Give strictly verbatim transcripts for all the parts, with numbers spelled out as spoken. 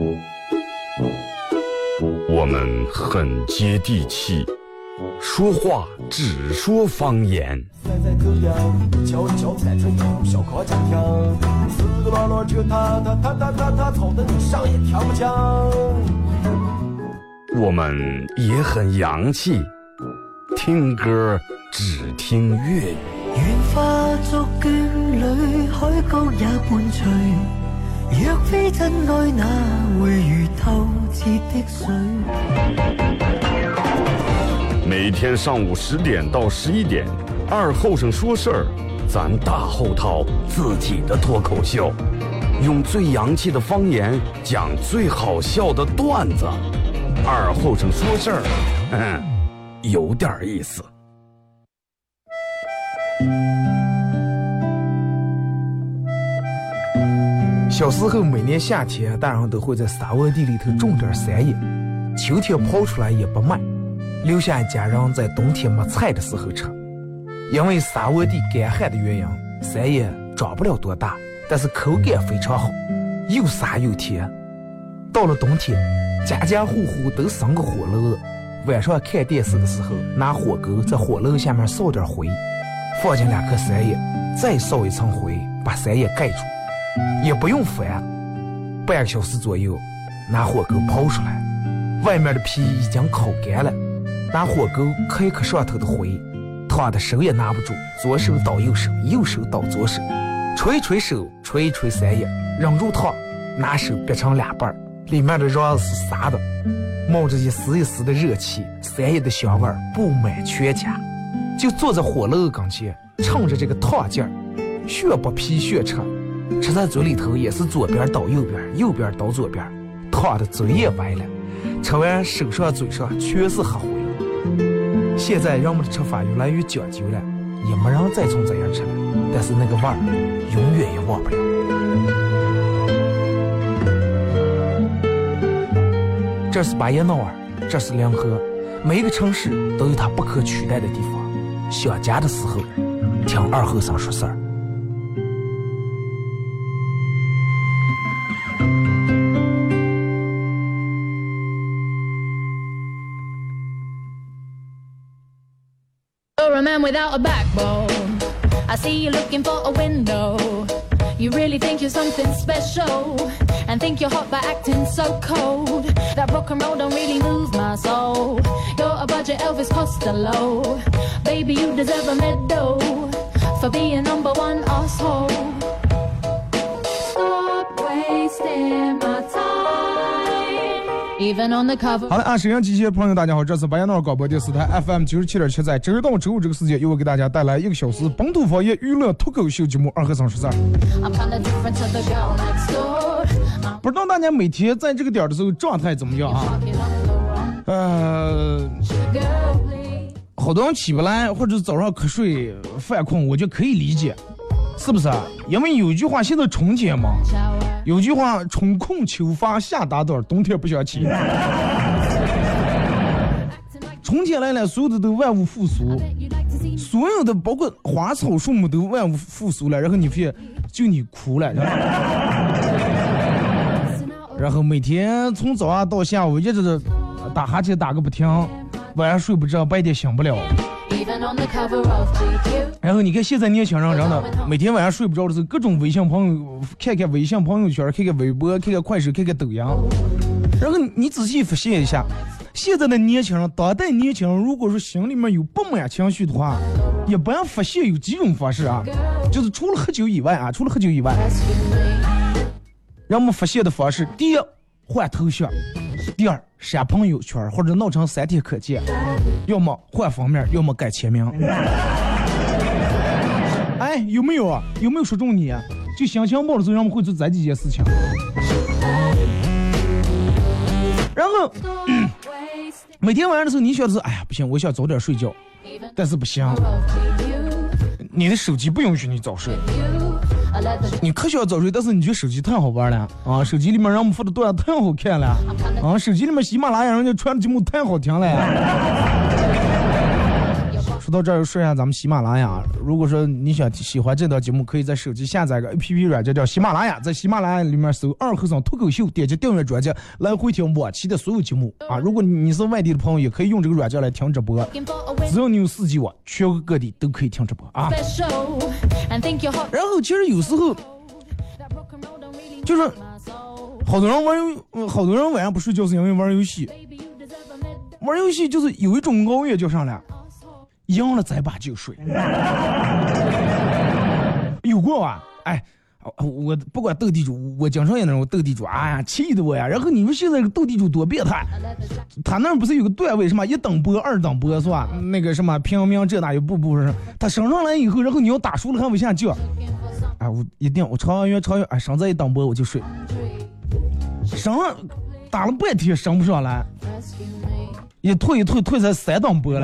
我们很接地气，说话只说方言。我们也很洋气，听歌只听粤语。 愿化作眷侣，海角也伴随。若非真愛，哪會如透徹的水？ 每天上午十點到十一點，二後生說事兒，咱大後套自己的脫口秀，用最洋氣的方言講最好笑的段子。二後生說事兒，嗯，有點意思。 小时候每年夏天，大人都会在沙窝地里头种点山野，秋天刨出来也不卖，留下一家人在冬天没菜的时候吃。因为沙窝地干旱的原因，山野长不了多大，但是口感非常好，又沙又甜。到了冬天，家家户户都生个火炉子，晚上看电视的时候，拿火钩在火炉下面烧点灰，放进两颗山野，再烧一层灰，把山野盖住。也不用翻，半个小时左右，拿火钩刨出来，外面的皮已经烤干了，拿火钩磕一磕上头的灰，烫的手也拿不住，左手倒右手，右手倒左手，捶一捶手，捶一捶山野，扔入烫，拿手掰成两半，里面的瓤子是沙的，冒着一丝一丝的热气，山野的香味布满全家。就坐在火炉跟前，趁着这个烫劲儿，血不皮血吃。吃在嘴里头也是左边倒右边，右边倒左边，烫的嘴也歪了，吃完手上嘴上全是黑灰。现在人们的吃法越来越讲究了，也没人再从这样吃了，但是那个味儿永远也忘不了。这是巴彦淖尔，这是临河，每一个城市都有它不可取代的地方。想家的时候，听二后生说事儿。 You're a man without a backbone. I see you looking for a window. You really think you're something special, and think you're hot by acting so cold. That rock and roll don't really move my soul. You're a budget Elvis Costello. Baby, you deserve a medal for being number one asshole. Stop wasting my time.Even on the cover. 好的啊，沈阳机械朋友大家好，这是巴彦淖尔广播电视台 F M 九十七点七，在周一到周五这个时间，由我给大家带来一个小时本土方言娱乐脱口秀节目《二和三十三》。不知道大家每天在这个点的时候状态怎么样啊？呃，好多人起不来，或者早上瞌睡犯困，我就可以理解，是不是啊？因为有一句话，现在春天嘛。有句话，春困秋乏夏打盹，冬天不想起。春天来了，所有的都万物复苏，所有的包括花草树木都万物复苏了，然后你发现就你哭了，然后每天从早上到下午一直打哈欠打个不停，晚上睡不着，白天醒不了。然后你看现在年轻人真的每天晚上睡不着的时候，各种微信朋友看看微信朋友圈，看看微博，看看快手，看看抖音。然后你仔细发现一下，现在的年轻人，当代年轻人，如果说心里面有不满情绪的话，也不要发泄有几种方式啊，就是除了喝酒以外啊，除了喝酒以外，让我们发泄的方式，第一换头像，第二删朋友圈或者闹成三天可见，要么换封面，要么改签名。哎，有没有啊？有没有说中你啊？就心情不好的时候，让我们会做这几件事情。然后、嗯、每天晚上的时候，你想的是，哎呀，不行，我想早点睡觉，但是不行，你的手机不允许你早睡。你可想早睡，但是你觉得手机太好玩了啊！手机里面让我们发的段太好看了啊！手机里面喜马拉雅人家传的节目太好听了呀！说说到这儿，说一下咱们喜马拉雅。如果说你想喜欢这档节目，可以在手机下载个 A P P 软件叫喜马拉雅，在喜马拉雅里面搜二和尚脱口秀，点击订阅专辑，来回听往期的所有节目啊。如果你是外地的朋友，也可以用这个软件来听直播，只要你有四 G 网，全国各地都可以听直播啊。然后其实有时候就是好多人玩游，好多人晚上不睡觉是因为玩游戏。玩游戏就是有一种熬夜就上来，赢了再把就睡。有过啊，哎，我不管斗地主，我经常也那种斗地主，哎呀，气的我呀。然后你们现在这个斗地主多变态，他那不是有个段位什么一等波、二等波是吧？那个什么平民这哪有步步是？他升上来以后，然后你要打输了还往下叫，哎，我一定我超越超越，哎，升在一等波我就睡，升了打了半天升不上来。一退一退退才三档波了，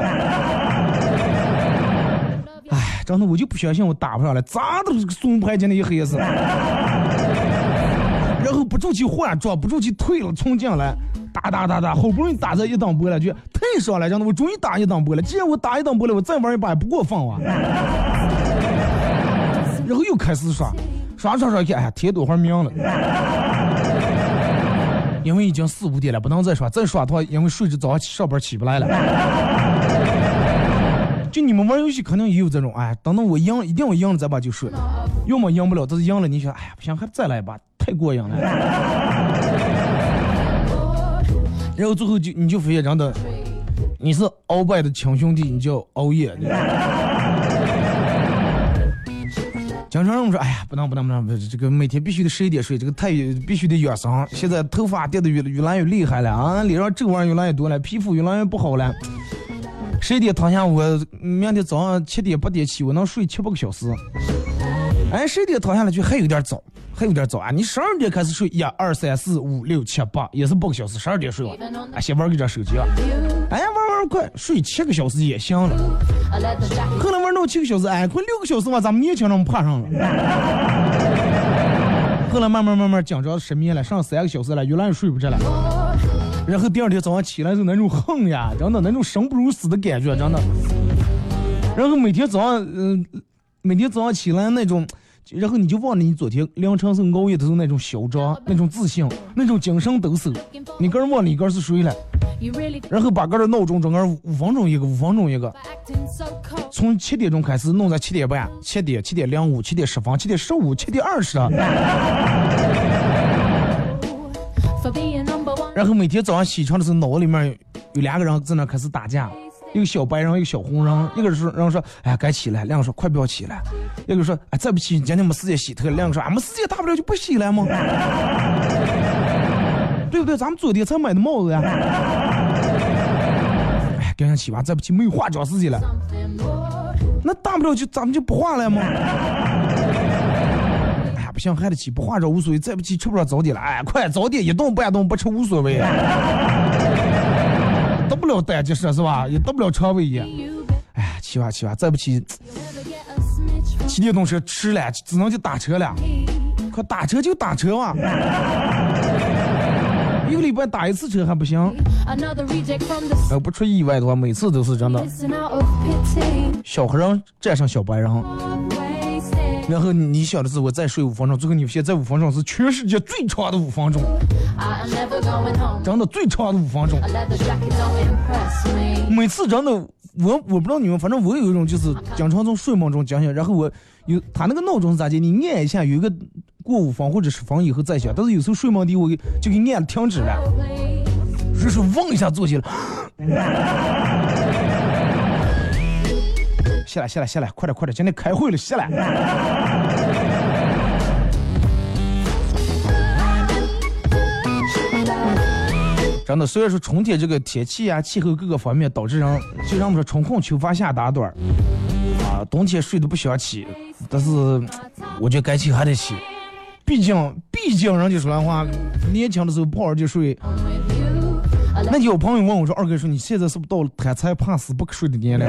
哎，真的我就不相信我打不上来，咋都是个松牌进的一黑子，然后不住去换装，不住去退了冲进来，打打打打，好不容易打在一档波了，就太爽了，真的我终于打一档波了，既然我打一档波了，我再玩一把也不过分啊，然后又开始刷，刷刷刷，哎呀，天多会儿命了。因为已经四五点了，不能再刷，再刷的话，因为睡着早上起上班起不来了。就你们玩游戏可能也有这种，哎，等等我赢，一定我赢了再把就睡，要么赢不了，但是赢了你想，哎呀，不行，还再来一把，太过瘾了。然后最后就你就发现真的，你是鳌拜的亲兄弟，你就熬夜。经常人说，哎呀，不能不能不能，这个每天必须得十一点睡，这个太必须得养生。现在头发掉的越越来越厉害了啊，脸上皱纹越来越多了，皮肤越来越不好了。十一点躺下，我明天早上七点八点起，我能睡七八个小时。哎，十一点躺下来就还有点早，还有点早啊！你十二点开始睡，一二三四五六七八，也是八个小时，十二点睡完，啊，先玩个点手机啊，哎，玩玩快，睡七个小时也行了。后来玩到七个小时，哎，快六个小时嘛，咱们年轻人爬上了。后来慢慢慢慢讲着失眠了，上三个小时了，越来越睡不着了。然后第二天早上起来是那种恨呀，真的那种生不如死的感觉，真的。然后每天早上，嗯、呃，每天早上起来那种。然后你就忘了你昨天凌晨是熬夜的时候那种嚣张、那种自信、那种精神抖擞，你个人忘了你个人是谁了。然后把个人闹钟整个五分钟一个，五分钟一个，从七点钟开始弄到七点半、七点、七点零五、七点十分、七点十五、七点二十。然后每天早上起床的时候，脑子里面有两个人在那开始打架。一个小白人，一个小红人，一个说，然后说，哎呀，该起来；两个说，快不要起来；一个说，哎，再不起，今天没时间洗头；两个说，俺们时间大不了就不洗了吗？对不对？咱们昨天才买的帽子呀。哎，赶紧起吧，再不起没有化妆时间了。那大不了就咱们就不化了吗？哎呀，不行，还得起，不化妆无所谓，再不起吃不了早点了。哎，快早点，一顿半顿不吃无所谓。得不了胆就是是吧？也得不了肠胃炎。哎，起吧起吧，再不起，骑电动车吃了，只能就打车了。可打车就打车嘛，一个礼拜打一次车还不行。呃，不出意外的话，每次都是真的。小黑人战胜小白人。然后你想的是我再睡五分钟，最后你发现在五分钟是全世界最长的五分钟，真的最长的五分钟。每次真的，我我不知道你们，反正我有一种就是经常从睡梦中惊醒，然后我有他那个闹钟是咋的？你按一下有一个过五分或者十分以后再响，但是有时候睡梦里我就给按停止了，就是嗡一下坐起来。下来下来下来，快点快点，今天开会了，下来。真的，虽然说春天这个天气啊、气候各个方面导致人，就让我们说春困秋乏夏打盹儿啊，冬天睡得不想起，但是我觉得该起还得起，毕竟毕竟人家说来话，年轻的时候不好就睡。那有朋友问我说：“二哥说你现在是不是到了贪财怕死不可睡的年龄？”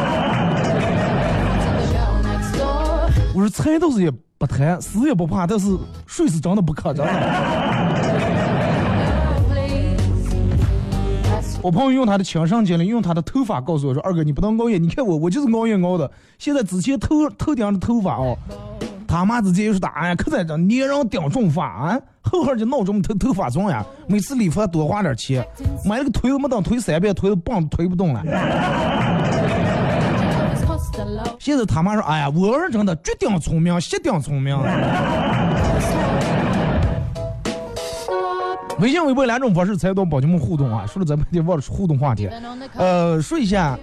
我说财倒是也不贪，死也不怕，但是睡是真的不可，真的。 我朋友用他的亲身经历，用他的头发告诉我说：“二哥，你不能熬夜，你看我，我就是熬夜熬的。现在之前头头顶的头发哦，他妈直接就是打哎，可在这捏人顶重发啊，后号就闹钟头头发重呀，每次理发多花点钱，买了个推没等推三遍，推的棒推不动了。现在他妈说：哎呀，我儿真的绝顶聪明，绝顶聪明。”微信、微博两种方式参与到宝节目互动啊！说了咱们得忘了互动话题，呃，说一下，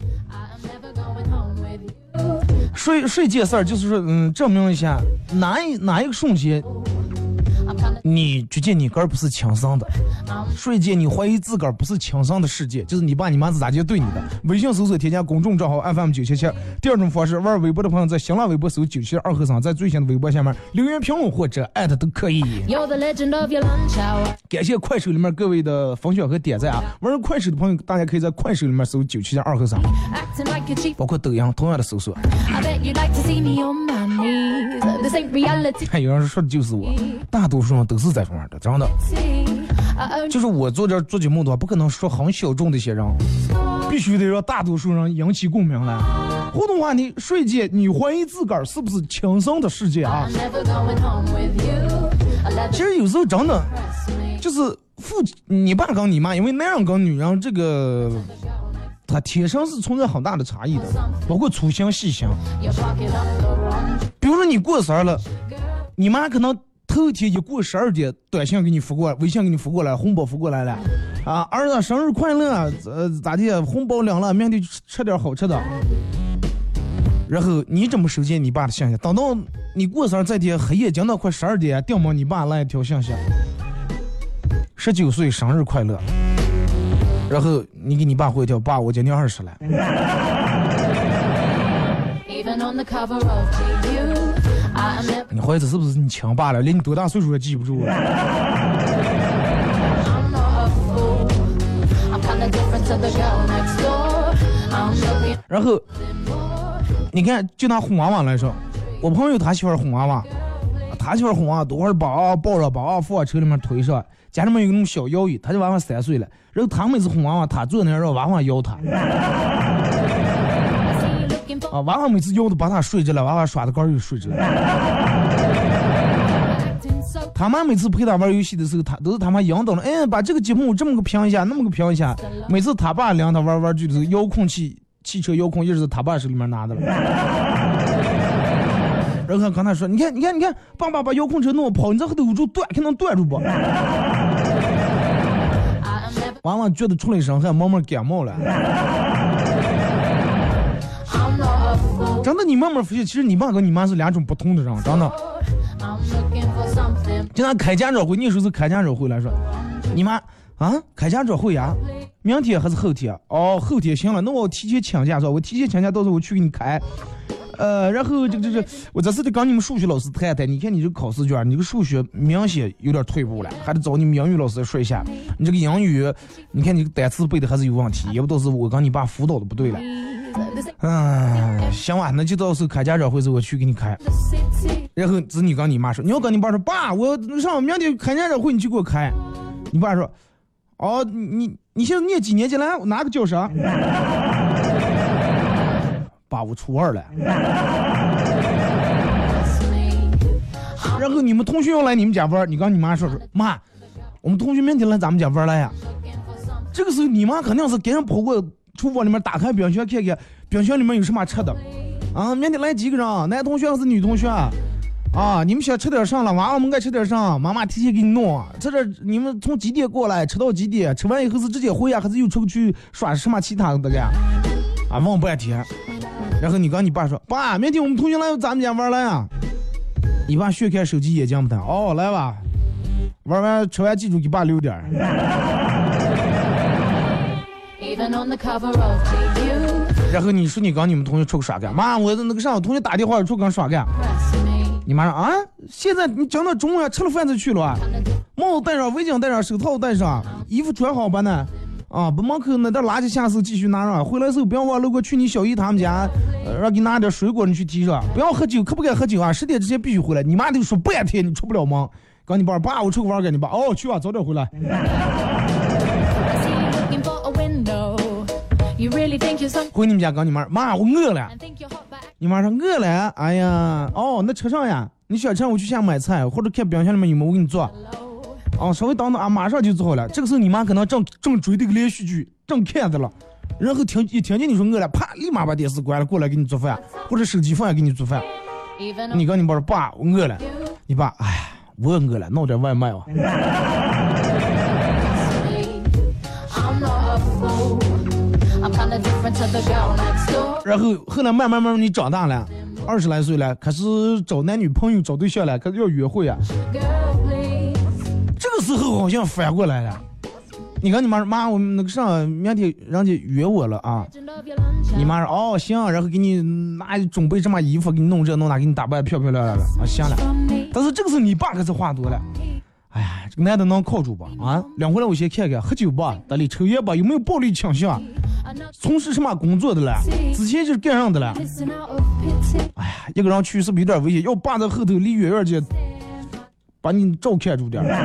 说说一件事儿，就是说，嗯，证明一下哪一哪一个瞬间，你觉得你个儿不是亲生的，说一件你怀疑自个儿不是亲生的事件，就是你爸你妈是咋就对你的。微信搜索添加公众账号 F M 九七七。第二种方式，玩微博的朋友在新浪微博搜九七二和尚，在最新的微博下面留言评论或者艾特都可以。感谢快手里面各位的分享和点赞啊！玩快手的朋友，大家可以在快手里面搜九七二和尚，包括抖音同样的搜索。还有人说的就是我，大多数人都是在玩的，真的。就是我做这做节目的话，不可能说很小众的一些人，必须得让大多数人引起共鸣来。互动话题：睡觉，你怀疑自个儿是不是亲生的世界啊？其实有时候真的就是父，你爸跟你妈，因为男人跟女人这个，他天生是存在很大的差异的，包括粗心细心。比如说你过生日了，你妈可能头天一过十二点，短信给你发过来，微信给你发过来，红包发过来了，啊，儿子生日快乐，呃，咋的，红包领了，明天去吃点好吃的。然后你怎么收见你爸的信息？等到你过生日这天黑夜将到快十二点，掉毛你爸来一条信息，十九岁生日快乐。然后你给你爸回一条，爸，我今年二十了。你怀疑这是不是你亲爸了？连你多大岁数也记不住了。然后你看，就拿哄娃娃来说，我朋友他喜欢哄娃娃，他喜欢哄娃娃，多会儿把抱着把娃娃放车里面推上，家里面有那种小摇椅，他就娃娃三岁了，然后他每次哄娃娃，他坐那让娃娃摇他。啊，娃娃每次摇的把他睡着了，娃娃耍的杆又睡着了。他妈每次陪他玩游戏的时候，他都是他妈引导了，哎，把这个节目这么个评一下，那么个评一下。每次他爸领他玩玩具的时候，遥控器汽车遥控一直是他爸手里面拿的了。然后刚才说，你看，你看，你看，爸爸把遥控车弄跑，你这后头捂住断，看能断住不？娃娃觉得出了一身汗，慢慢感冒了。真的，你慢慢发现，其实你爸跟你妈是两种不同的人，真的。就拿开家长会，那时候是开家长会来说，你妈啊，开家长会呀、啊，明天还是后天？哦，后天行了，那我提前请假说，我提前请假，到时候我去给你开。呃，然后这个这个，我这次得跟你们数学老师谈谈，你看你这个考试卷，你这个数学明显有点退步了，还得找你们英语老师说一下。你这个英语，你看你这个单词背的还是有问题，也不都是我跟你爸辅导的不对了。嗯，行吧，那就到时候开家长会时候我去给你开。然后子女跟你妈说，你要跟你爸说，爸，我上明天开家长会，你去给我开。你爸说，哦，你你现在念几年级来？哪个教室？爸，我初二了。然后你们同学要来你们家玩，你跟你妈说说，妈，我们同学明天来咱们家玩来呀。这个时候你妈肯定是赶紧跑过厨房里面，打开冰箱看看冰箱里面有什么吃的啊。明天来几个人？男同学还是女同学啊？啊，你们想吃点啥了？娃娃们该吃点啥？妈妈提前给你弄。这这你们从几点过来？吃到几点？吃完以后是直接回家，还是又出去耍什么其他的干？啊，问半天。然后你跟你爸说，爸，明天我们同学来咱们家玩来呀。你爸学开手机眼睛不疼，哦，来吧，玩完吃完记住给爸留点。然后你说你跟你们同学出个耍干，妈，我那个上我同学打电话出跟耍干。你妈说啊，现在你讲到中午吃了饭就去了啊，帽子戴上，围巾戴上，手套戴上，衣服穿好吧呢？啊，把门口那点垃圾下次继续拿上，回来时候不要忘路过去你小姨他们家，呃、让给拿点水果你去提上，不要喝酒，可不该喝酒啊？十点之前必须回来。你妈就说半天你出不了门，跟你爸爸我出去玩给你爸，哦去啊，早点回来。 window. You really think you're some 回你们家跟你妈妈我饿了， and think you're hot but 你妈说饿了，哎呀，哦那车上呀，你想吃我去下买菜，或者看冰箱里面有没有我给你做。 low. 哦，稍微等等啊，马上就做好了。这个时候你妈可能正正追这个连续剧，正看着了，然后听一听见你说饿了，啪，立马把电视关了，过来给你做饭，或者手机放下给你做饭。 Even 你跟你爸说爸，我饿了。 you 你爸，哎呀，我也饿了，弄点外卖吧。 me. I'm not a fool. I'm kinda different to the girl next door. 然后后来慢慢慢慢你长大了，二十来岁了，开始找男女朋友、找对象了，开始要约会啊。 Girl, please. 这个时候好像反过来了。你跟你妈说妈，我们那个上明天人家约我了啊。 Legend of your lunch. 你妈说哦行，然后给你拿准备什么衣服，给你弄这弄那，给你打扮漂漂亮亮的啊，行了。 From me. 但是这个时候你爸可是话多了，哎呀，这个男的能靠住吧？啊，两回来我先看看，喝酒吧，得里抽烟吧，有没有暴力倾向？ Another 从事什么工作的了？之前就是干上的了。 listen out of pity. 哎呀，一个人去是不是有点危险？要爸在后头离远远去，把你照看住点儿。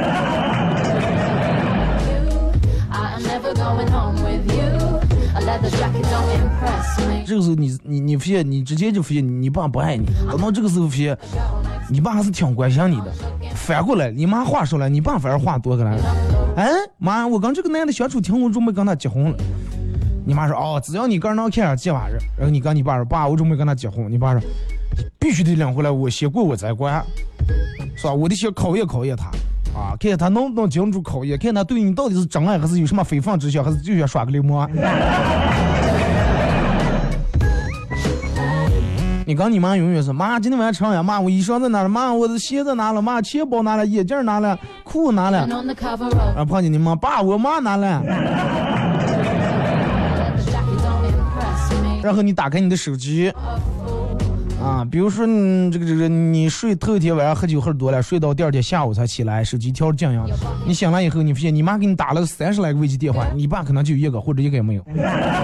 I am never going home with you. A leather jacket don't impress me. 这个时候你你你发现你直接就发现你爸不爱你，等到这个时候发现你爸还是挺关心你的。反过来，你妈话说了，你爸反而话多个了。哎，妈，我跟这个男的相处挺，我准备跟他结婚了。你妈说哦，只要你个人能看上这玩意儿，然后你跟你爸说爸，我准备跟他结婚。你爸说必须得领回来，我先过我再管，是吧？我得先考验考验他啊，看看他能不能经住考验，看他对你到底是真爱还是有什么非分之想，还是就想耍个流氓。你跟你妈永远是妈，今天晚上吃啥呀？妈，我衣裳在哪了？妈，我的鞋子拿了？妈，钱包拿了？眼镜拿了？裤拿了？ And on the cover of 啊，碰见你妈，爸，我妈拿了。 leather jacket don't impress me. 然后你打开你的手机，啊，比如说你这个这个你睡头一天晚上喝酒喝多了，睡到第二天下午才起来，手机调静音，你醒来以后，你发现你妈给你打了三十来个未接电话，你爸可能就一个或者一个也没有。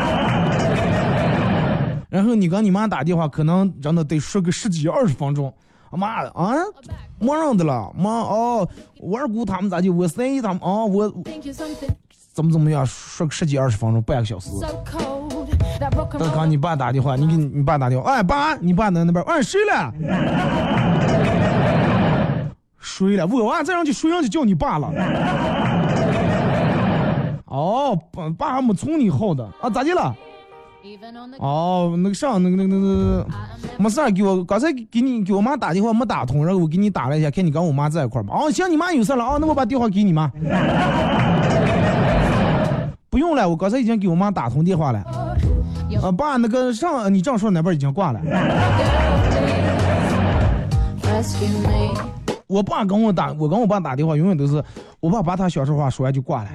然后你跟你妈打电话，可能真的得说个十几二十分钟。妈啊，没人的了，妈哦，我二姑他们咋就我三姨他们哦，我 Think you're something 怎么怎么样，说个十几二十分钟，半个小时。 so cold that rock and 等 roll 刚你爸打电话，你给你爸打电话，哎爸，你爸在那边，哎睡了，睡了，我娃再让去睡上去叫你爸了。哦，爸爸还没从你后的啊，咋的了？ even on the 哦，那个上那个那个那个，没事儿，给我刚才给你给我妈打电话没打通，然后我给你打了一下，看你跟我妈在一块儿嘛。哦，行，你妈有事了啊，那我把电话给你妈。不用了，我刚才已经给我妈打通电话了。啊，爸，那个上你这样说那边已经挂了。 rescue me. 我爸跟我打，我跟我爸打电话，永远都是我爸把他小时候话说完就挂了。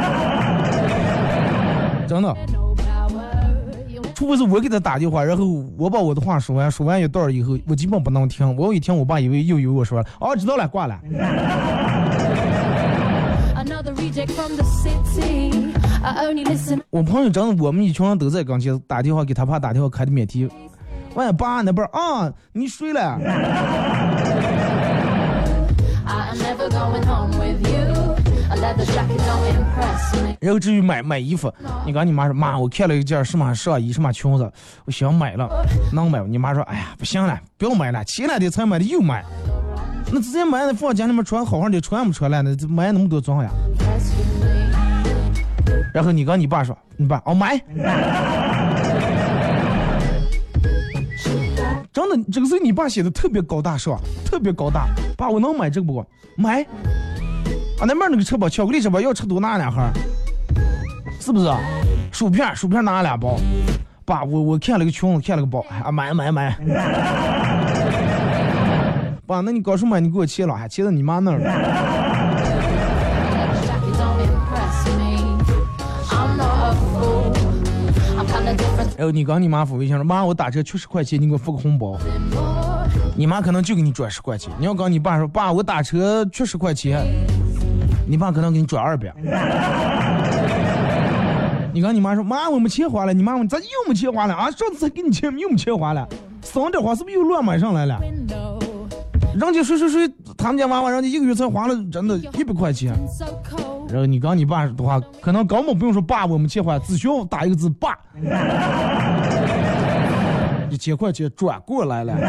真的。 No power. You 除非是我给他打电话，然后我把我的话说完，说完一段以后，我基本不能听。我一听，我爸以为又有我说了，哦，知道了，挂了。 another reject from the city. I only listen. 我朋友真的，我们一群人都在刚才打电话给他爸打电话开的免提。喂，爸那边啊，你睡了？ I am never going home with you. A leather jacket don't impress me. 然后至于买买衣服，你跟你妈说，妈，我看了一件什么上衣什么裙子，我想买了，能买？你妈说，哎呀，不行了，不要买了，前两天才买的又买。那之前买的放家里面穿好好的，穿不穿了？那买那么多装呀？ Rescue me. 然后你跟你爸说，你爸哦买。真的，这个是你爸写的特别高大上，特别高大。爸，我能买这个不？买。啊，那边那个吃吧，巧克力吃吧，要吃多拿两盒，是不是？薯片，薯片拿两包。爸，我我看了个裙子，看了个包，啊，买买买。爸，那你刚说买，你给我切了，还切到你妈那儿了。 Jacket don't impress me. I'm not a fool. I'm kinda different 然后你跟你妈付微信说，妈，我打车缺十块钱，你给我付个红包。 than more. 你妈可能就给你转十块钱。你要跟你爸说，爸，我打车缺十块钱，你爸可能给你转二百。你跟你妈说，妈，我没钱花了。你妈问咋又没钱花了啊？上次才给你钱，又没钱花了，省点花是不是又乱买上来了？ Window. 人家谁谁谁他们家娃娃，人家一个月才花了真的一百块钱。然后你刚你爸的话，可能根本不用说爸，我们切换，只需要打一个字爸，一千块钱转过来了。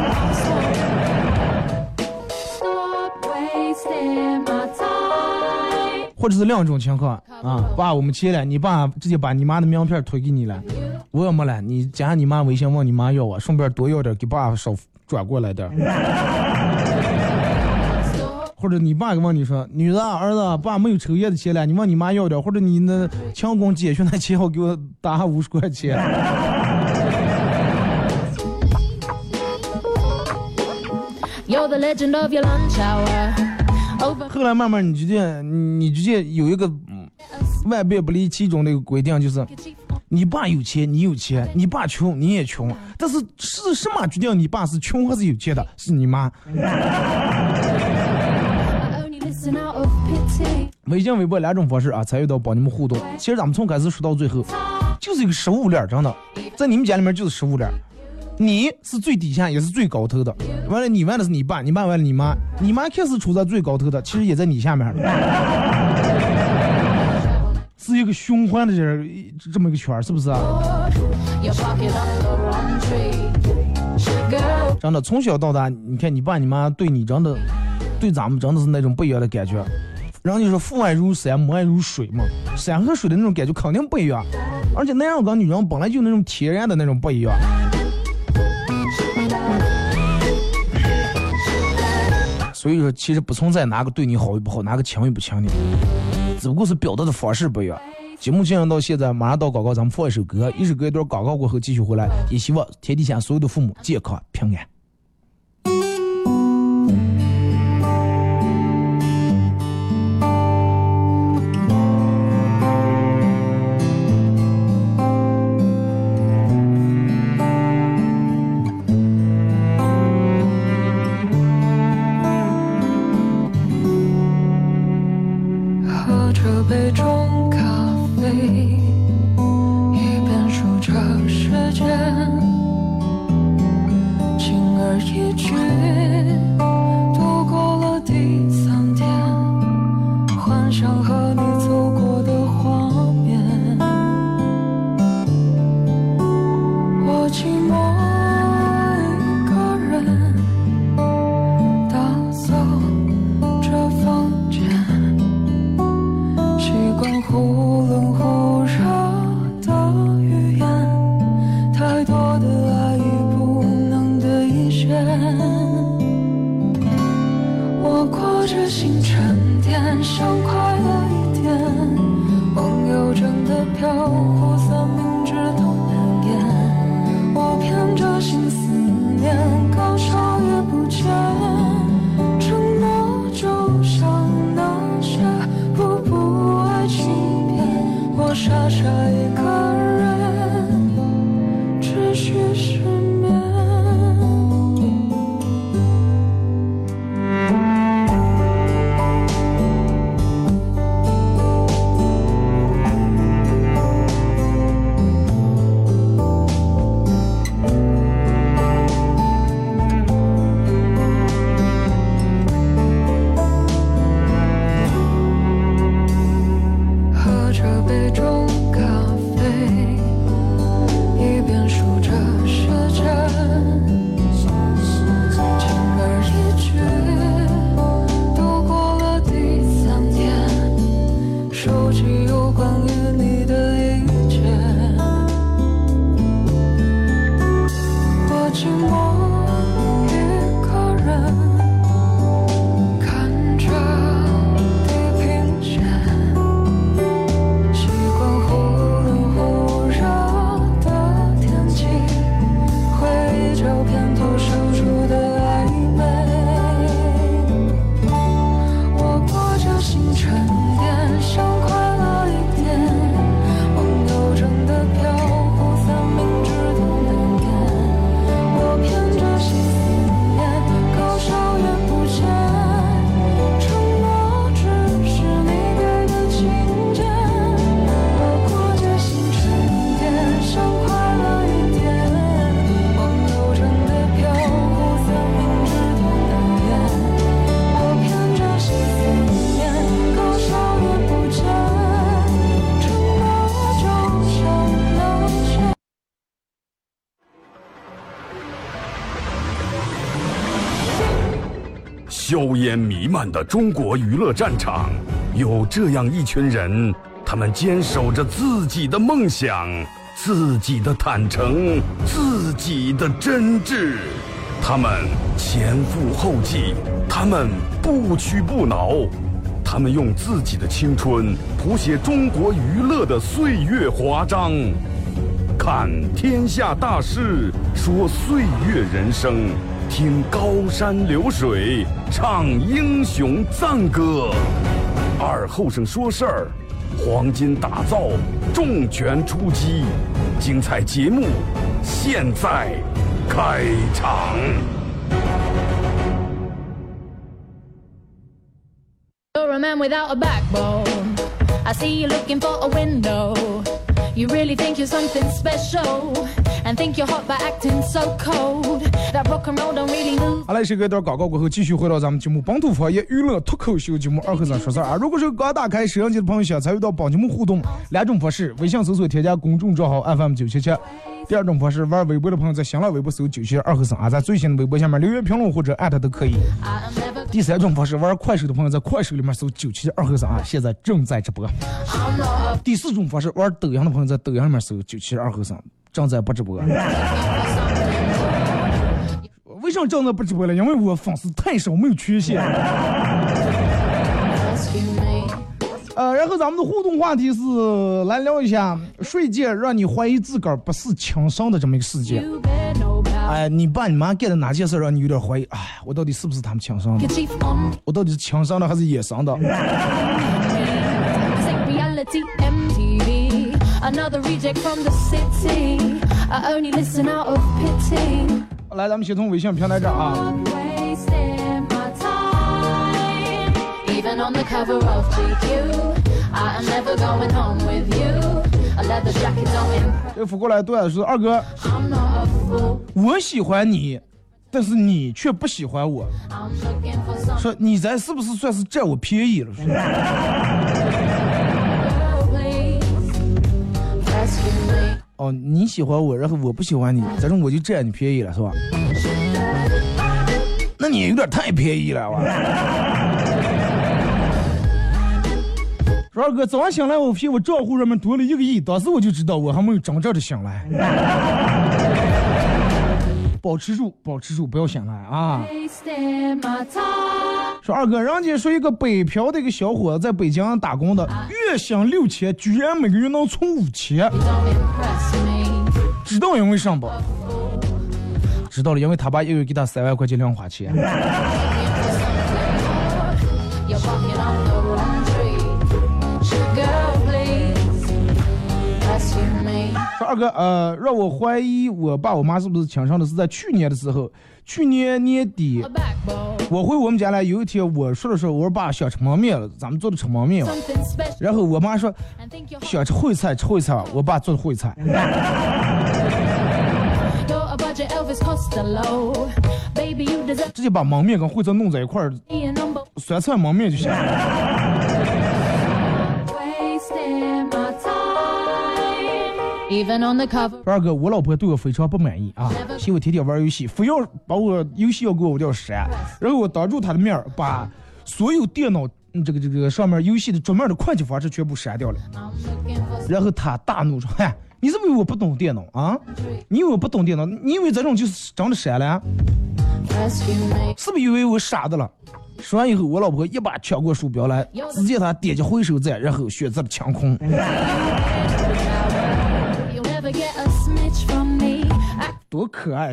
或者是两种情况啊，爸，我们切了，你爸直接把你妈的名片推给你了，我要没了，你加上你妈微信问你妈要啊，顺便多要点给爸少转过来点。或者你爸问你说，女的儿子，爸没有抽烟的钱了，你问你妈要点，或者你那强工解决那钱，我给我打五十块钱。后来慢慢你直接你直接有一个万变不离其中的一个规定，就是你爸有钱你有钱，你爸穷你也穷，但是是什么决定你爸是穷还是有钱的？是你妈。微信微博两种方式啊，参与到帮你们互动。其实咱们从开始说到最后，就是一个食物链，真的，在你们家里面就是食物链。你是最底下也是最高头的，完了你玩的是你爸，你爸玩了你妈，你妈开始处在最高头的，其实也在你下面，是一个循环的这这么一个圈，是不是啊？真的从小到大，你看你爸你妈对你真的，对咱们真的是那种不一样的感觉。然后你说父爱如山，母爱如水嘛，山和水的那种感觉肯定不一样，而且男人跟女人本来就那种天然的那种不一样。所以说其实不存在哪个对你好与不好，哪个强与不强的，只不过是表达的方式不一样。节目进行到现在，马上到广告，咱们放一首歌，一首歌一段广告过后继续回来，也希望天底下所有的父母健康平安。 杯中咖啡，一边数着时间，轻而易举度过了第三天，幻想和你走过的画面，我寂寞一个人打扫这房间，习惯忽冷忽热的语言，太多的爱已不能兑现。我过着新沉淀，想快乐一点，梦游真的飘忽，三明治都难咽。我骗着心思念，高潮也不见，承诺就像那些不不爱欺骗，我傻傻一个人持续失眠。 硝烟弥漫的中国娱乐战场，有这样一群人，他们坚守着自己的梦想，自己的坦诚，自己的真挚。他们前赴后继，他们不屈不挠，他们用自己的青春谱写中国娱乐的岁月华章。看天下大事，说岁月人生，听高山流水，唱英雄赞歌。二后生说事儿，黄金打造，重拳出击，精彩节目现在开场。 You're a man without a backbone. I see you looking for a window. You really think you're something special, and think you're hot by acting so cold. That rock and roll don't really move. 好嘞，是个段广告过后，继续回到咱们节目《本土方言娱乐脱口秀》节目二和尚说事儿啊。如果是刚打开摄像机的朋友想参与到本节目互动，两种方式：微信搜索添加公众账号 F M 九七七；第二种方式，玩微博的朋友在新浪微博搜九七七二和尚啊，在最新的微博下面留言评论或者艾特都可以。第三种方式，玩快手的朋友在快手里面搜九七七二和尚啊，现在正在直播。第四种方式，玩抖音的朋友在抖音里面搜九七七二和尚正在不直播。为什么正在不直播了？因为我粉丝太少，没有缺陷。呃，然后咱们的互动话题是来聊一下睡觉让你怀疑自个儿不是情商的这么一个事件。哎，你爸你妈干的哪件事让你有点怀疑？哎，我到底是不是他们情商的？我到底是情商的还是野商的？来，咱们先从微信平台这啊。Even on the cover of G Q, I am never going home with you. A leather jacket don't impress. 这扶过来对说二哥，我喜欢你，但是你却不喜欢我。说你咱是不是算是占我便宜了？哦，你喜欢我，然后我不喜欢你，这种我就占你便宜了，是吧？那你有点太便宜了，哇！说二哥，早上醒来我发我账户上面多了一个亿，当时我就知道我还没有真正的醒来。保持住，保持住，不要醒来啊！说二哥，人家说一个北漂的一个小伙子在北京打工的，月薪六千，居然每个月能存五千，知道因为上不？知道了，因为他爸一个月给他三万块钱零花钱。说二哥，呃，让我怀疑我爸我妈是不是情商的，是在去年的时候，去年年底，我回我们家来，有一天我说的时候，我说爸想吃焖面了，咱们做的吃焖面了，然后我妈说想吃烩菜，吃烩菜，我爸做的烩菜。直接把焖面跟烩菜弄在一块儿，酸菜焖面就行了。二哥，我老婆对我非常不满意啊，嫌我天天玩游戏，非要把我游戏要给我要删，然后我当住她的面把所有电脑、嗯、这个这个上面游戏的桌面的快捷方式全部删掉了，然后她大怒说：“嗨，你是不是以为我不懂电脑啊？你以为我不懂电脑？你以为这种就是真的删了？是不是以为我傻的了？”说完以后，我老婆一把抢过鼠标来，直接她点击回收键，然后选择了抢空。多可爱！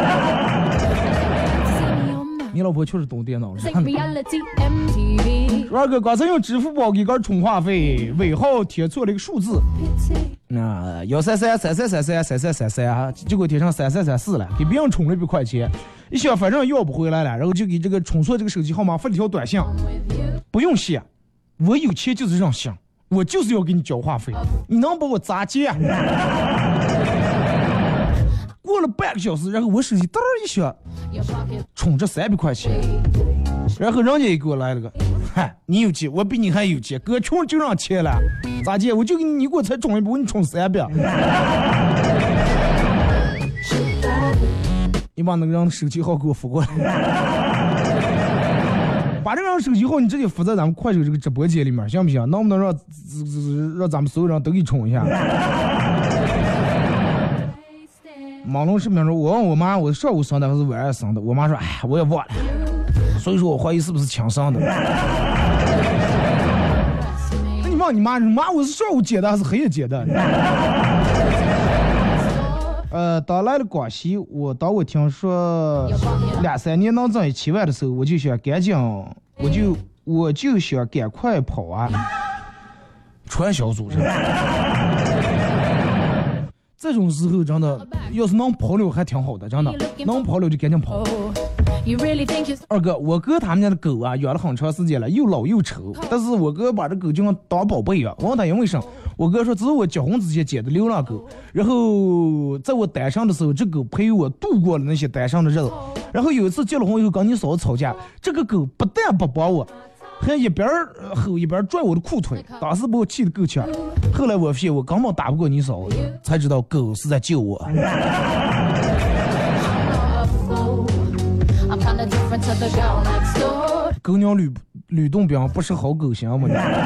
你老婆确实懂电脑了。二哥刚才用支付宝给个充话费，尾号贴错了一个数字，那幺三三三三三三三三三三啊，结果贴上三三三四了，给别人充了一百块钱，一想反正要不回来了，然后就给这个充错这个手机号码发了条短信，不用谢，我有钱就是任性，我就是要给你交话费，你能把我咋接？过了半个小时，然后我手机噔一下充着三百块钱，然后人家也给我来了个，嗨，你有钱，我比你还有钱，哥穷就让钱了，咋接？我就给你，你给我才充一百，我给你充三百。你把那个人的手机号给我发过来。 把这个手机号你直接附在咱们快手这个直播间里面，行不行？能不能让让咱们所有人都给冲一下？马龙视频说，我问我妈，我上午生的还是晚上生的？我妈说，哎，我也忘了。所以说我怀疑是不是亲生的。那你问你妈，你妈我是上午接的还是黑夜接的？呃，当来了广西，我当我听说两三年能挣一七万的时候，我就想赶紧，我就我就想赶快跑啊！传销组织，这种时候真的，要是能跑了还挺好的，真的能跑了就赶紧跑。二哥，我哥他们家的狗啊，养了很长时间了，又老又丑，但是我哥把这狗就像当宝贝啊。我问他因为什么，我哥说这是我结婚之前捡的流浪狗，然后在我单身的时候，这狗陪我度过了那些单身的日子。然后有一次结了婚以后跟你嫂子吵架，这个狗不但不帮我，还一边吼一边拽我的裤腿，当时把我气得够呛。后来我发现我根本打不过你嫂子，才知道狗是在救我。狗娘吕吕洞宾不是好狗行吗？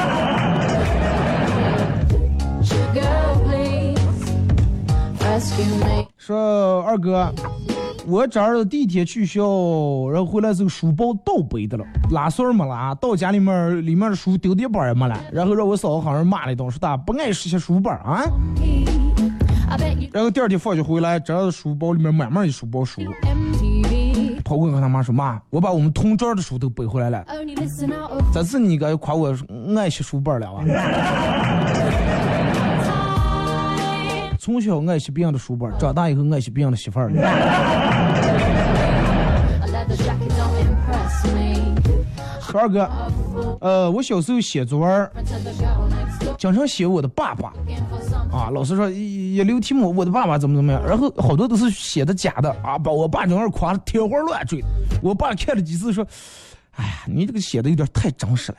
说二哥，我这儿第一天去学校，然后回来这个书包倒背的了，拉锁没拉，到家里面里面的书丢地板也没了，然后让我嫂子好像骂了一顿，说他不爱拾些书本啊。然后第二天放学回来，这书包里面满满的书包书。跑过跟他妈说，妈，我把我们同桌的书都背回来了。这次你该夸我爱惜书本了啊！从小爱惜别人的书本，长大以后爱惜别人的媳妇儿。二哥，呃，我小时候写作文，经常写我的爸爸。啊，老师说也留题目，我的爸爸怎么怎么样，然后好多都是写的假的啊，把我爸整个夸的天花乱坠。我爸看了几次说，哎呀，你这个写的有点太真实了。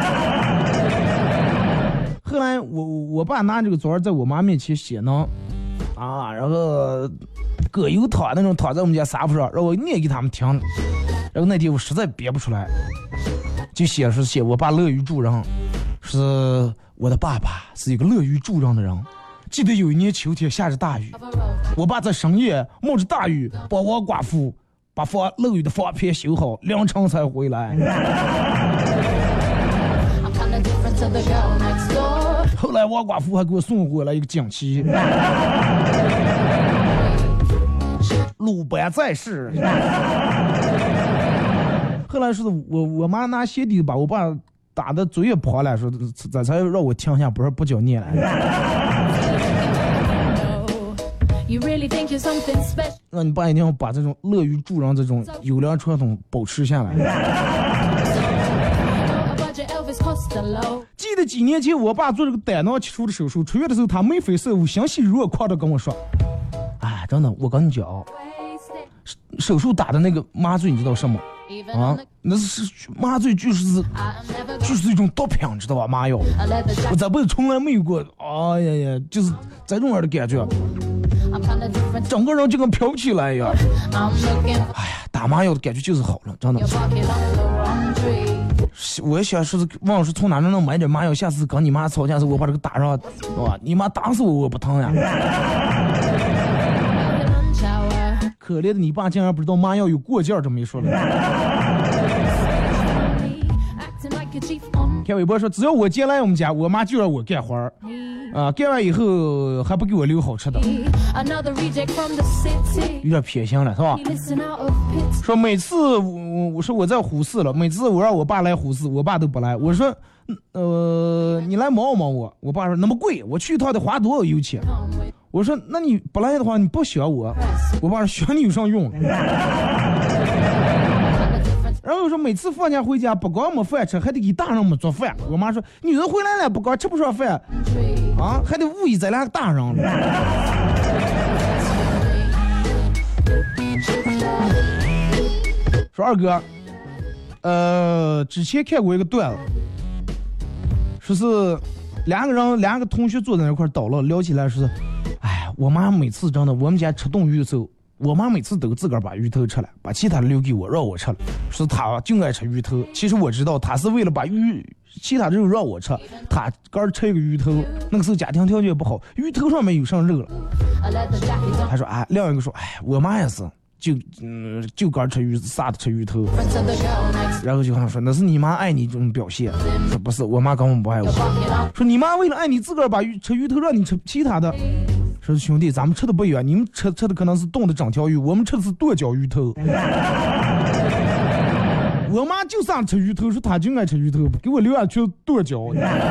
后来我我爸拿这个作文在我妈面前写呢，啊，然后葛优躺那种躺在我们家沙发上，让我念给他们听。然后那天我实在憋不出来，就写是写我爸乐于助人，是我的爸爸是一个乐于助人的人。记得有一年秋天下着大雨，我爸在深夜冒着大雨帮我寡妇把房漏雨的房片修好，凌晨才回来。后来王寡妇还给我送回来一个锦旗，鲁班在世。后来是我我妈拿鞋底把我爸打的嘴也破了，说这才让我停下，不是不叫念了。那你爸一定要把这种乐于助人这种优良传统保持下来。记得几年前我爸做这个胆囊切除的手术，出院的时候他眉飞色舞，欣喜若狂的跟我说，哎，真的，我跟你讲，手术打的那个麻醉你知道什么啊？那是麻醉就是就是一种毒品，知道吧？麻药，我这辈子从来没有过，哎呀呀，就是这种样的感觉，整个人就跟飘起来一样。哎呀，打麻药的感觉就是好了，真的。我也想是忘是从哪能买点麻药，下次跟你妈吵架时我把这个打上，是吧？你妈打死我我不疼呀。可怜的你爸竟然不知道麻药有过劲儿，这么一说了。开微博说，只要我进来我们家，我妈就让我干活儿，啊，干完以后还不给我留好吃的，有点偏心了，是吧？说每次我我说我在呼市了，每次我让我爸来呼市，我爸都不来。我说，呃，你来忙忙我，我爸说那么贵，我去一趟得花多少油钱？我说那你不来的话，你不选我，我爸说选你有上用。然后我说每次放假回家不光没饭吃，还得给大人们做饭。我妈说女人回来了不光吃不上饭啊，还得误以咱俩大人了。说二哥，呃，之前看过一个段子，说是两个人两个同学坐在那块倒了，聊起来说是，哎，我妈每次真的我们家吃冻鱼的时候， 我妈每次都自个儿把鱼头吃了，把其他的留给我，让我吃了。说她就爱吃鱼头，其实我知道她是为了把鱼其他的肉让我吃，她刚吃一个鱼头，那个时候家庭条件不好，鱼头上面有上肉了。她说哎，另一个说哎，我妈也是，就嗯就刚吃鱼啥的吃鱼头，然后就跟她说那是你妈爱你这种表现。说不是，我妈根本不爱我。说你妈为了爱你自个儿把鱼吃鱼头，让你吃其他的。说兄弟，咱们吃的不一样，你们吃吃的可能是冻的整条鱼，我们吃的是剁椒鱼头。我妈就上吃鱼头，说她就爱吃鱼头，给我留下去剁椒。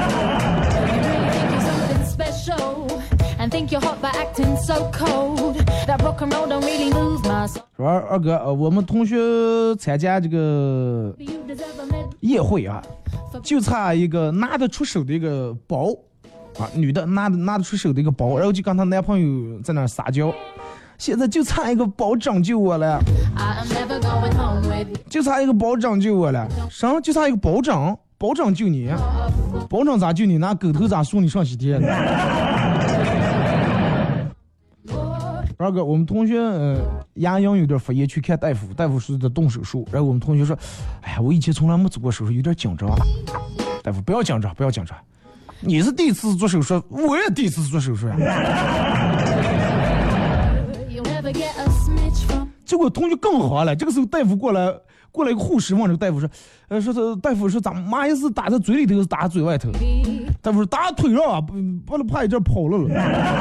说二二哥，呃，我们同学参加这个夜会啊，就差一个拿得出手的一个包。啊，女的拿的拿得出手的一个包，然后就跟她男朋友在那儿撒娇，现在就差一个包拯救我了，就差一个包拯救我了，啥？就差一个包拯，包拯救你，包拯咋救你？拿狗头咋送你上西天？二哥，我们同学呃牙龈有点发炎，去看大夫，大夫说的动手术，然后我们同学说，哎呀，我以前从来没做过手术，有点紧张。大夫不要紧张，不要紧张。你是第一次做手术，我也第一次做手术呀。结果同学更好了，这个时候大夫过来，过来一个护士问这个大夫说，呃，说是大夫说咱妈也是打在嘴里头，是打在嘴外头。大夫说打腿上啊，不不能怕一阵跑了了。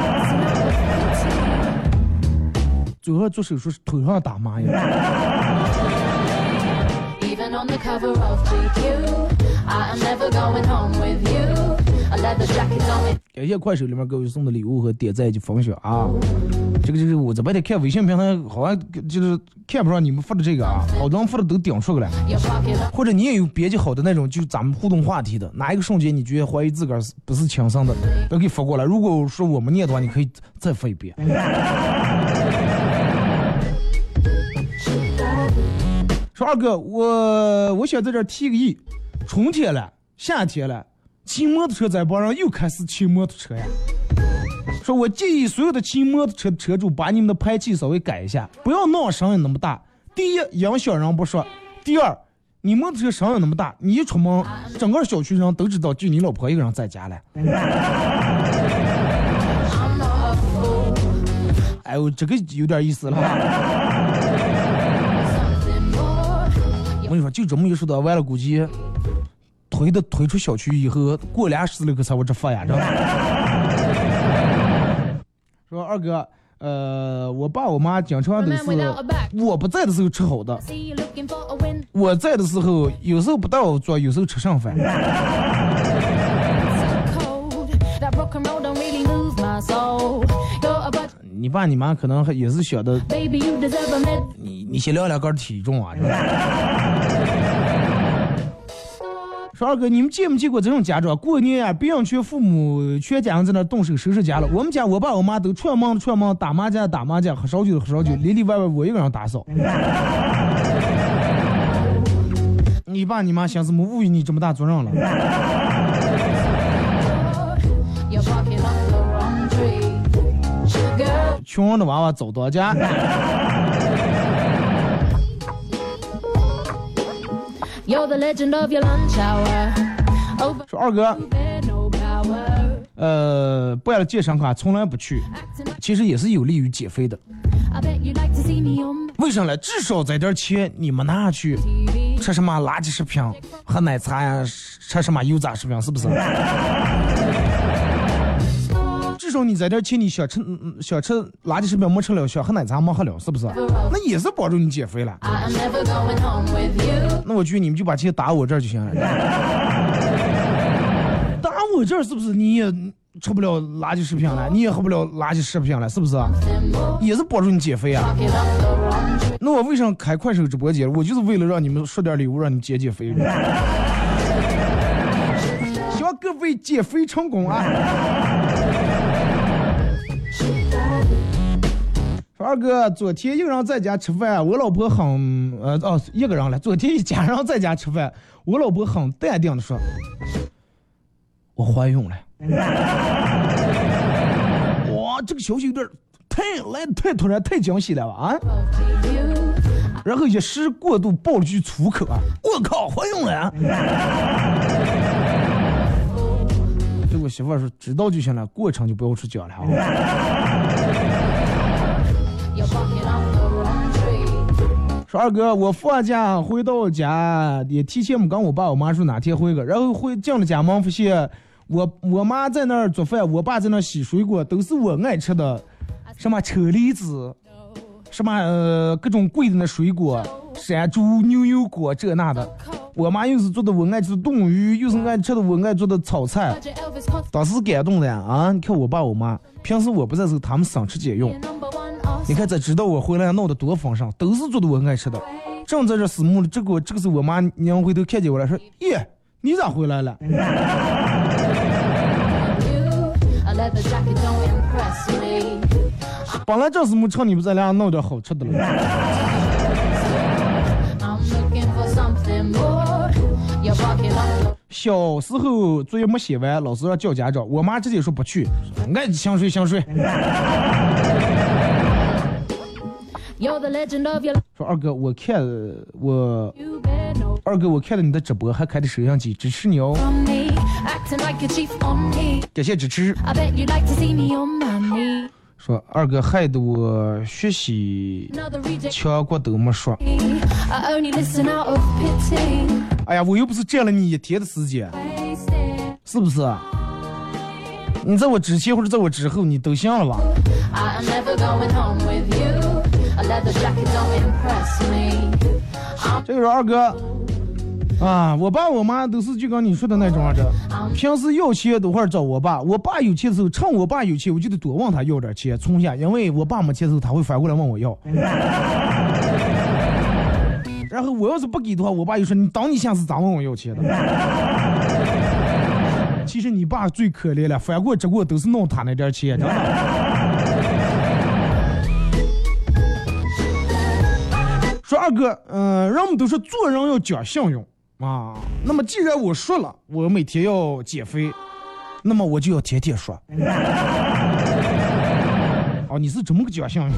最后做手术是腿上打麻药。感谢快手里面各位送的礼物和点赞及分享啊！这个就是我这边得看微信平台，好像就是看不上你们发的这个啊，好多人发的都顶出来了。或者你也有编辑好的那种，就咱们互动话题的，哪一个瞬间你觉得怀疑自个儿不是亲生的，都可以发过来。如果说我们念的话，你可以再发一遍。说二哥，我我想在这儿提个议，春天了，夏天了。骑摩托车在帮上又开始骑摩托车呀！说我建议所有的骑摩托车的车主把你们的排气稍微改一下，不要闹声音那么大。第一，影响人不说；第二，你摩托车声音那么大，你一出门，整个小区人都知道就你老婆一个人在家了。哎呦，这个有点意思了。我跟你说，就这么一说的，完了估计。推的推出小区以后，过俩十来个才我这发呀，知道吗？说二哥，呃，我爸我妈经常都是我不在的时候吃好的，我在的时候有时候不带我做，有时候吃剩饭。你爸你妈可能也是晓得，你你先聊两根体重啊。说二哥，你们见没见过这种家长？过年啊，别人全父母全家人在那动手收拾家了。我们家我爸我妈都串门串门，打麻将打麻将，喝烧酒喝烧酒，里里外外我一个人打扫。你爸你妈想怎么误以你这么大责任了？穷人的娃娃走多家。说二哥，呃，办了健身卡从来不去，其实也是有利于减肥的。为什么呢？至少在点钱你们拿去吃什么垃圾食品、喝奶茶呀，吃什么油炸食品，是不是？至少你在点钱，你想吃想吃垃圾食品没吃了，想喝奶茶没喝了，是不是？那也是帮助你减肥了。那我觉得你们就把钱打我这儿就行了。打我这儿是不是你也吃不了垃圾食品了，你也喝不了垃圾食品了，是不是？也是帮助你减肥啊。那我为什么开快手直播间？我就是为了让你们说点礼物，让你们减减肥。希望各位减肥成功啊！说二哥，昨天一个人在家吃饭，我老婆很呃哦一个人了。昨天一家人在家吃饭，我老婆很淡定的说：“我怀孕了。”哇，这个消息有点太太来得太突然太惊喜了吧啊！然后一时过度爆了句粗口啊！我靠，怀孕了啊！对我媳妇说知道就行了，过程就不要去讲了啊。说二哥，我放假回到家也提前没跟我爸我妈说哪天回个，然后回进了家门发现我我妈在那儿做饭，我爸在那儿洗水果，都是我爱吃的，什么车厘子，什么呃各种贵的那水果，山猪牛油果这那的。我妈又是做的我爱吃的冻鱼，又是爱吃的我爱做的炒菜，当时感动的呀啊！你看我爸我妈，平时我不在时候他们省吃俭用。你看，才知道我回来闹得多丰盛，都是做的我爱吃的。正在这死木了，这个这个是我妈娘回头看见我来说：“耶，你咋回来了？”本来这死木趁你不在家闹点好吃的了。小时候作业没写完，老师要叫家长，我妈直接说不去，爱想睡想睡。说二哥，我看我二哥我看了你的直播，还开的摄像机，支持你哦，感谢支持。说二哥害得我学习全国都没说。哎呀，我又不是占了你一天的时间，是不是？你在我之前或者在我之后，你都行了吧？这个是二哥啊，我爸我妈都是就跟你说的那种的，平时要钱都会找我爸，我爸有钱的时候，趁我爸有钱，我就得多问他要点钱存下，因为我爸没钱的时候，他会反过来问我要。然后我要是不给的话，我爸就说你当你下次咋问我要钱的？其实你爸最可怜了，反过直过都是弄他那点钱，真的。说二哥，嗯、呃，人们都说做人要讲信用啊。那么既然我说了，我每天要减肥，那么我就要天天说。哦，你是这么个讲信用？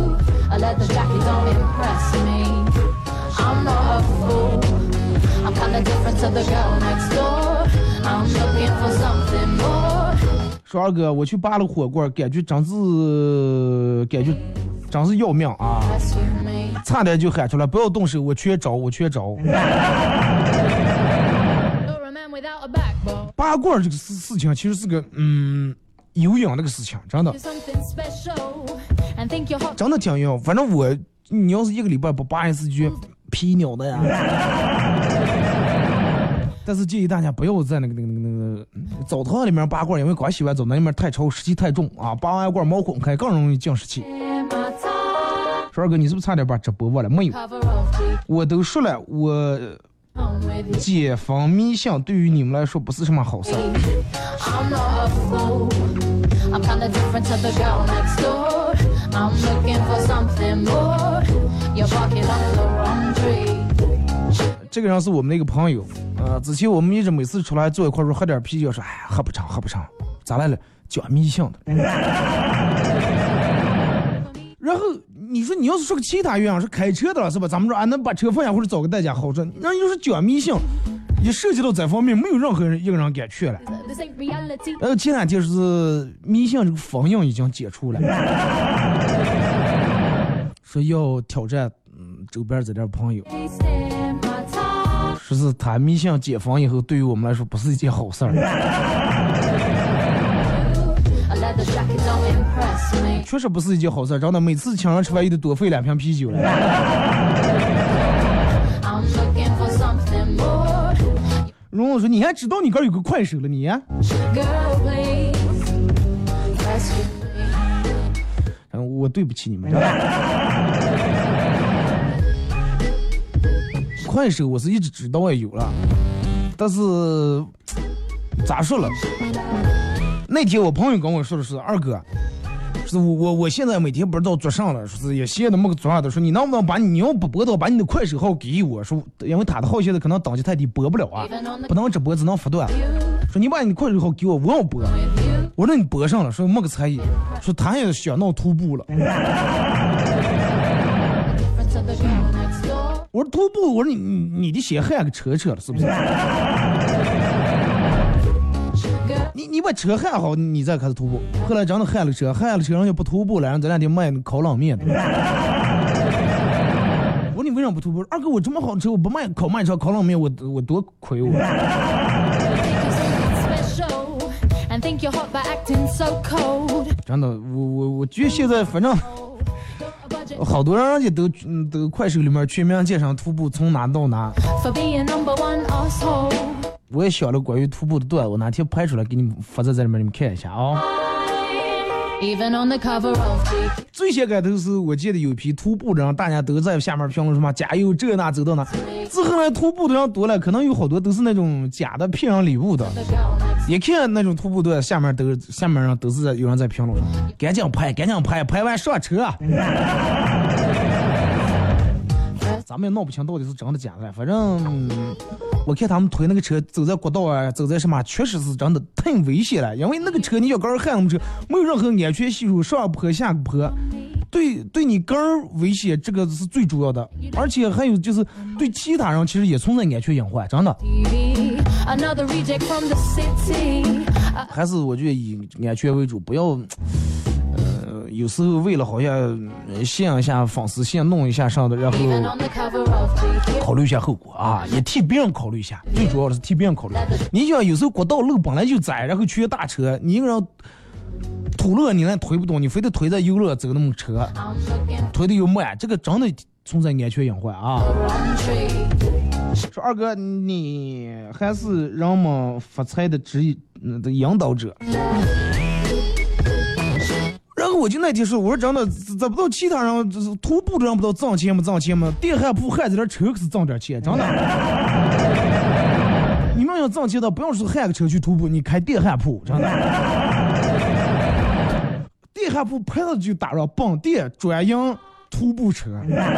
说二哥，我去扒了火锅，感觉真是感觉真是要命啊！差点就喊出来，不要动手，我缺招，我缺招。扒罐这个事事情其实是个嗯有氧那个事情，真的，真的挺有。反正我，你要是一个礼拜不扒一次，就皮鸟的呀。但是建议大家不要在那个那个那个那个澡堂里面扒罐，因为刚洗完澡那里面太潮，湿气太重啊，扒完罐毛孔开，更容易降湿气。说二哥，你是不是差点把直播忘了？没有，我都说了，我解放迷信对于你们来说不是什么好事。这个人是我们的一个朋友，呃，之前我们一直每次出来坐一块说喝点啤酒，说哎呀喝不成喝不成，咋来了？讲迷信的。然后你说你要是说个其他原因，是开车的了是吧？咱们说啊能把车放下或者找个代驾好说，然后又是讲迷信，一涉及到这方面，没有任何人一个人敢去了。然后前两天是迷信这个封印已经解除了，说要挑战嗯周边这点朋友。说是他迷信解封以后，对于我们来说不是一件好事儿。确实不是一件好事儿，真的，每次请人吃饭又得多费两瓶啤酒了。蓉蓉说：“你还知道你这儿有个快手了你、啊？”嗯，我对不起你们。快手我是一直知道也有了，但是咋说了？那天我朋友跟我说的是二哥，是我我我现在每天不知道做啥了，说是也闲的没个做啥的，说你能不能把你要不播到把你的快手号给我，说因为他的号现在可能等级太低播不了啊，不能直播只能发段，说你把你的快手号给我，我要播， 我说你播上了，说没个才艺，说他也想闹徒步了。我说徒步，我说你你的鞋焊个车车了是不是？你你把车焊好，你再开始徒步。后来真的焊了车，焊了车，然后就不徒步了，然后咱俩就卖烤冷面的。我说你为什么不徒步？二哥，我这么好车，我不卖烤卖车烤冷面，我我多亏我。真的，我我我觉得现在反正好多人家都都快手里面全面介绍徒步从哪到哪。我也想了关于徒步的段，我哪天拍出来给你们发在这里面，你们看一下啊、哦。最先开头是我记得有一批徒步的人，大家都在下面评论什么加油这那走到哪。之后呢，徒步的人多了，可能有好多都是那种假的骗人礼物的。也看那种徒步队下面都下面上都是有人在评论，赶紧拍，赶紧拍，拍完上车。咱们也闹不清到底是真的假的，反正我看他们推那个车走在国道啊，走在什么，确实是真的太危险了。因为那个车你要跟人焊那么车，没有任何安全系数，上坡下坡，对对你个人危险，这个是最主要的。而且还有就是对其他人其实也存在安全隐患，真的。还是我觉得以安全为主，不要。有时候为了好像限一下粉丝线弄一下上的，然后考虑一下后果啊，也替别人考虑一下，最主要的是替别人考虑。你想有时候国道路本来就窄，然后缺大车，你一个人土路你那推不动，你非得推在优乐走那么车，推的又慢，这个真的存在安全隐患啊。说二哥，你还是人们发财的指引的引导者。然后我就那天说，我说真的，找不到其他人，就是徒步的人不知道挣钱吗？挣钱吗？电焊铺焊这点车可是挣点钱，真的。你们要挣钱的，不用说焊个车去徒步，你开电焊铺，真的。电焊铺拍了就打上绑电专营徒步车。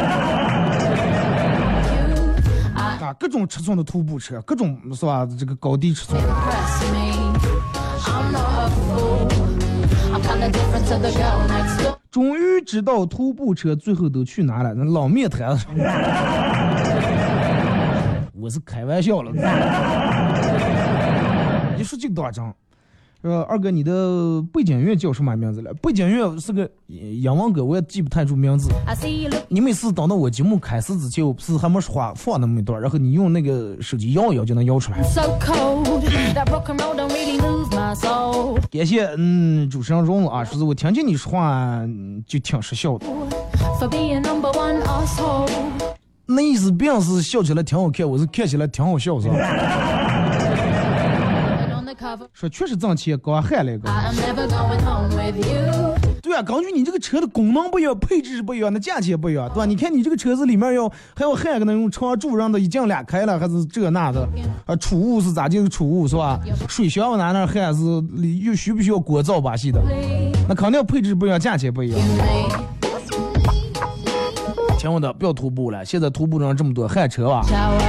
啊，各种尺寸的徒步车，各种是吧？这个高低尺寸。终于知道徒步车最后都去哪了，那老面摊上。我是开玩笑了。你说这个多张？呃，二哥，你的背景乐叫什么名字了？背景乐是个洋王歌，我也记不太住名字。你每次等到我节目开始之前，我不是还没说话放那么一段，然后你用那个手机摇一摇就能摇出来。感谢，嗯，主持人荣啊，说是我听见你说话就挺实笑的。那意思并是笑起来挺好看，我是看起来挺好笑，是吧？说确实挣钱，刚焊了一个。对啊，根据你这个车的功能不一样，配置不一样，那价钱不一样，对吧？你看你这个车子里面要还要焊个那种长柱，让它一进俩开了，还是这那的啊？储物是咋进储物是吧？水箱拿那焊是又需不需要锅灶把戏的？那肯定配置不一样，价钱不一样。听我的，不要徒步了，现在徒步上这么多焊车啊。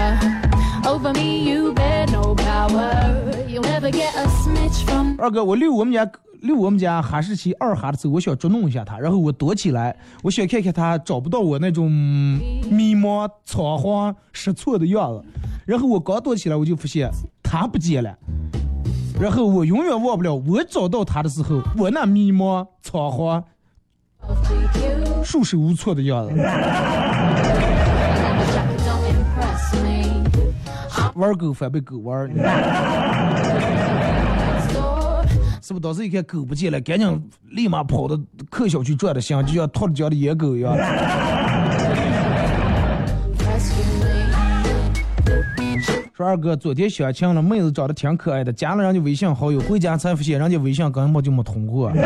二哥，我溜我们家溜我们家哈士奇二哈的时候，我想捉弄一下它，然后我躲起来，我想看看它找不到我那种迷茫仓皇失措的样子。然后我刚躲起来，我就发现它不见了。然后我永远忘不了我找到它的时候，我那迷茫仓皇束手无措的样子。玩狗反被狗玩，是不是？当时一看狗不见了，赶紧立马跑到客小区转的香，就像脱了缰的野狗一样。说二哥，昨天相亲了，妹子长得挺可爱的，加了人家微信好友，回家才发现人家微信根本就没通过。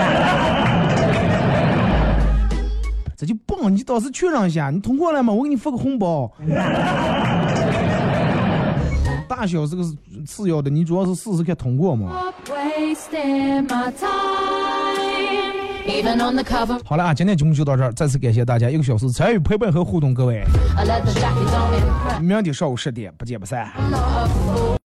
这就棒！你倒是确认一下，你通过了吗？我给你发个红包。大小是个次要的，你主要是试试看通过吗？好了啊，今天节目就到这儿，再次感谢大家一个小时参与陪伴和互动，各位，明天上午十点不见不散。